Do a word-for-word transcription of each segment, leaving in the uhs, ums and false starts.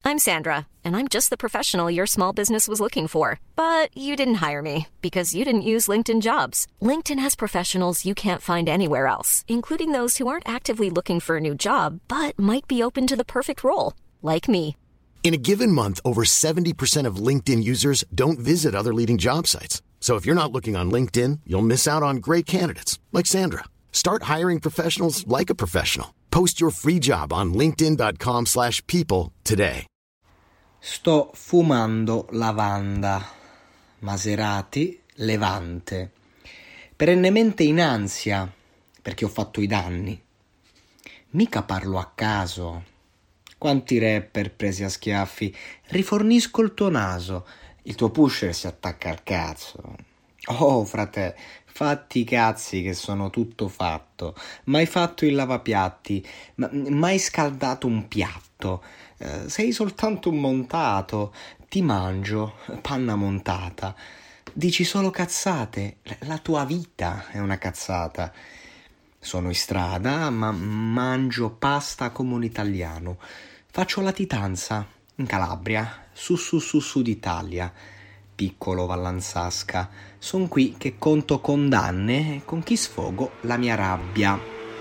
I'm Sandra, and I'm just the professional your small business was looking for. But you didn't hire me because you didn't use LinkedIn Jobs. LinkedIn has professionals you can't find anywhere else, including those who aren't actively looking for a new job, but might be open to the perfect role, like me. In a given month, over seventy percent of LinkedIn users don't visit other leading job sites. So if you're not looking on LinkedIn, you'll miss out on great candidates like Sandra. Start hiring professionals like a professional. Post your free job on linkedin.com slash people today. Sto fumando lavanda, Maserati, Levante, perennemente in ansia perché ho fatto i danni. Mica parlo a caso. Quanti rapper presi a schiaffi, rifornisco il tuo naso, il tuo pusher si attacca al cazzo. Oh, frate, fatti i cazzi che sono tutto fatto. Mai fatto il lavapiatti, ma mai scaldato un piatto. Eh, sei soltanto un montato. Ti mangio, panna montata. Dici solo cazzate. La tua vita è una cazzata. Sono in strada, ma mangio pasta come un italiano. Faccio latitanza in Calabria, su su su su d'Italia. Piccolo Vallanzasca, son qui che conto condanne e con chi sfogo la mia rabbia.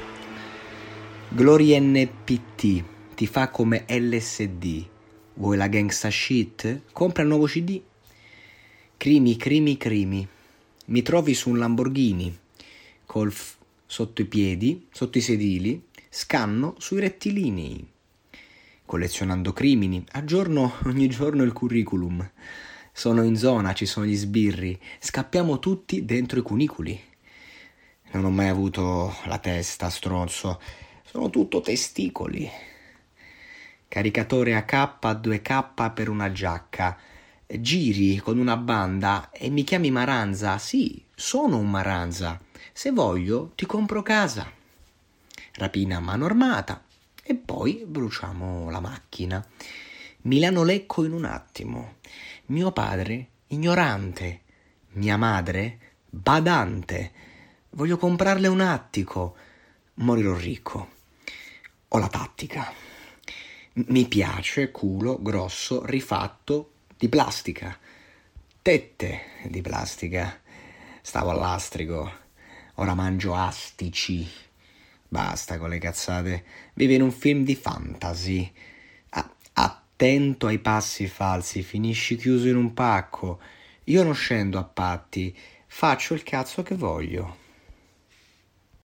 Glory N P T, ti fa come L S D. Vuoi la gangsta shit? Compra il nuovo C D. Crimi, crimi, crimi. Mi trovi su un Lamborghini, col f- sotto i piedi, sotto i sedili, scanno sui rettilinei. Collezionando crimini, aggiorno ogni giorno il curriculum. Sono in zona, ci sono gli sbirri, scappiamo tutti dentro i cunicoli. Non ho mai avuto la testa, stronzo, sono tutto testicoli. Caricatore A K, due K per una giacca. Giri con una banda e mi chiami Maranza. Sì, sono un Maranza. Se voglio ti compro casa. Rapina a mano armata e poi bruciamo la macchina. Milano Lecco in un attimo. Mio padre ignorante, mia madre badante. Voglio comprarle un attico, morirò ricco. Ho la tattica. Mi piace culo grosso rifatto di plastica. Tette di plastica. Stavo all'astrico. Ora mangio astici. Basta con le cazzate. Vive in un film di fantasy. Ah, attento ai passi falsi, finisci chiuso in un pacco. Io non scendo a patti, faccio il cazzo che voglio.